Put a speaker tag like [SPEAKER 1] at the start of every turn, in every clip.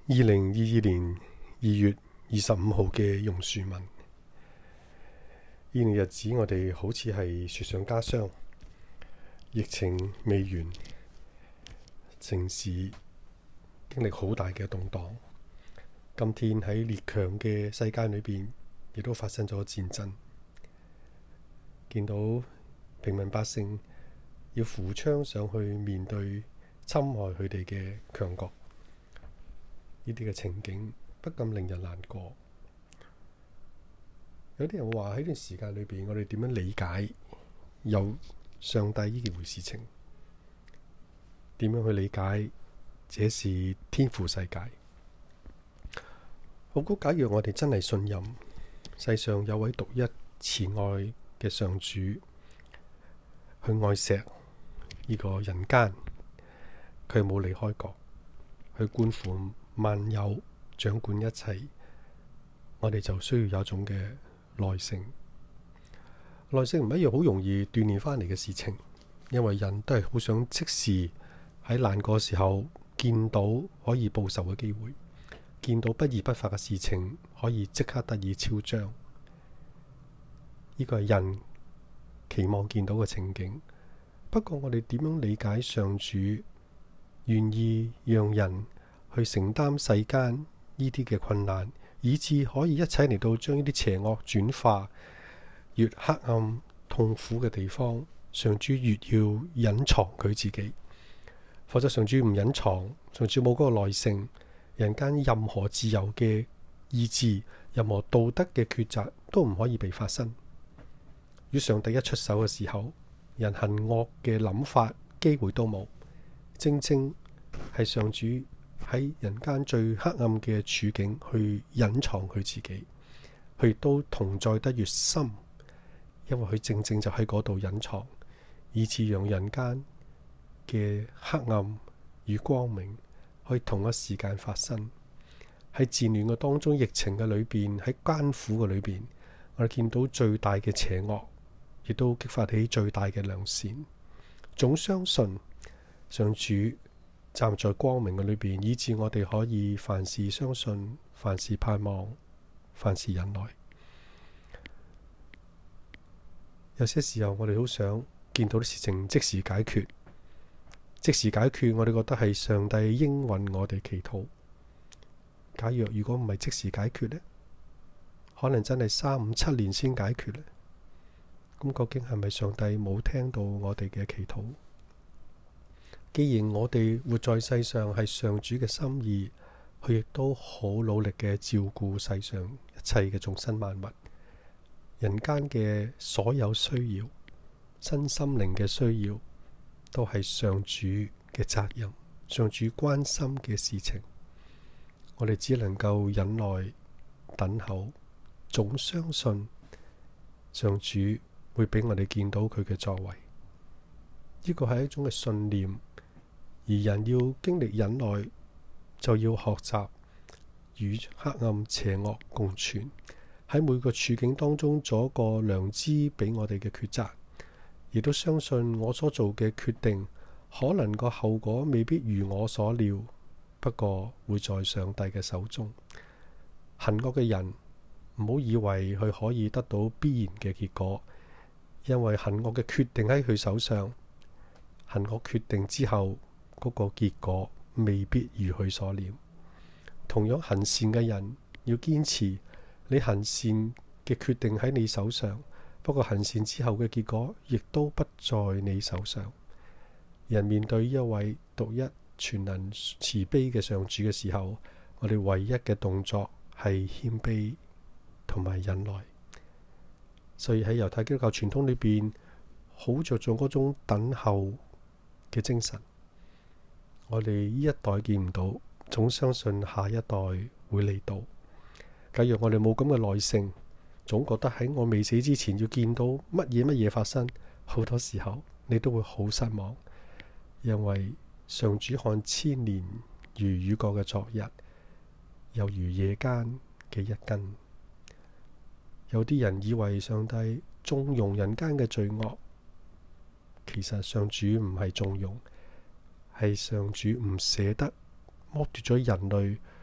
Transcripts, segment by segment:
[SPEAKER 1] 2022年2月25號嘅榕樹文。呢段日子我哋好似係雪上加霜，疫情未完，城市經歷好大嘅動盪。今天喺列強嘅世界裏邊，亦都發生咗戰爭。見到平民百姓要扶槍上去面對侵害佢哋嘅強國，呢啲嘅情景不禁令人難過。有啲人話喺呢段時間裏邊，我哋點樣理解有上帝呢件回事情？點樣去理解這是天父世界？我估假若我哋真係信任世上有位獨一慈愛嘅上主，去愛錫呢個人間，佢冇離開過，去觀顧萬有，掌管一切，我哋就需要有一種嘅耐性。耐性唔係一樣好容易鍛鍊翻嚟嘅事情，因為人都係好想即時喺難過時候見到可以報仇嘅機會，見到不義不法嘅事情可以即刻得以昭彰。呢個係人期望見到嘅情景。不過我哋點樣理解上主願意讓人去承擔世間呢啲嘅困難，以致可以一齊嚟到將呢啲邪惡轉化？越黑暗痛苦嘅地方，上主越要隱藏佢自己。否則上主唔隱藏，上主冇嗰個耐性，人間任何自由嘅意志，任何道德嘅抉擇都唔可以被發生。如果上帝一出手嘅時候，人行惡嘅諗法機會都冇。正正係上主喺人間最黑暗嘅處境去隱藏佢自己，佢亦都同在得越深，因為佢正正就喺嗰度隱藏，以致讓人間嘅黑暗與光明可以同一時間發生。喺戰亂嘅當中，疫情嘅裏邊，喺艱苦嘅裏邊，我哋見到最大嘅邪惡，亦都激發起最大嘅良善。總相信上主站在光明嘅裏邊，以致我哋可以凡事相信，凡事盼望，凡事忍耐。有些時候我哋好想見到啲事情即時解決，即時解決，我哋覺得係上帝應允我哋祈禱。假如果唔係即時解決呢，可能真係3、5、7年先解決呢。咁究竟係咪上帝冇聽到我哋嘅祈禱？既然我哋活在世上係上主嘅心意，佢亦都好努力嘅照顧世上一切嘅眾生萬物，人間嘅所有需要，身心靈嘅需要，都係上主嘅責任，上主關心嘅事情。我哋只能夠忍耐等候，總相信上主會俾我哋見到佢嘅作為。呢個係一種嘅信念，而人要經歷忍耐，就要學習與黑暗邪惡共存，喺每個處境當中做一個良知俾我哋嘅抉擇，亦都相信我所做嘅決定可能個後果未必如我所料，不過會在上帝嘅手中。行惡嘅人唔好以為佢可以得到必然嘅結果，因為行惡嘅決定喺佢手上，行惡決定之後嗰個結果未必如佢所料。同樣行善嘅人要堅持，你行善嘅決定喺你手上，不過行善之後嘅結果亦都不在你手上。人面對一位獨一全能慈悲嘅上主嘅時候，我哋唯一嘅動作係謙卑同埋忍耐。所以喺猶太基督教傳統裏邊，好着重嗰種等候嘅精神。我哋呢一代見唔到，總相信下一代會嚟到。假如我哋冇咁嘅耐性，總覺得喺我未死之前要見到乜嘢發生，好多時候你都會好失望，因為上主看千年如雨過嘅昨日，又如夜間嘅一更。有啲人以為上帝縱容人間嘅罪惡，其實上主唔係縱容，係上主唔捨得剝奪咗人類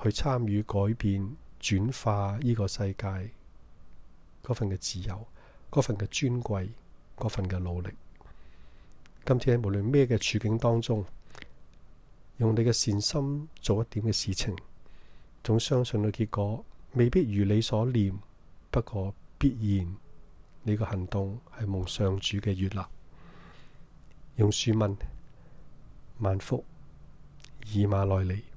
[SPEAKER 1] 去參與改變、轉化呢個世界嗰份嘅自由、嗰份嘅尊貴、嗰份嘅努力。今天無論咩嘅處境當中，用你嘅善心做一點嘅事情，總相信嘅結果未必如你所念，不過必然你個行動係蒙上主嘅悅納。用書問萬福以馬內利。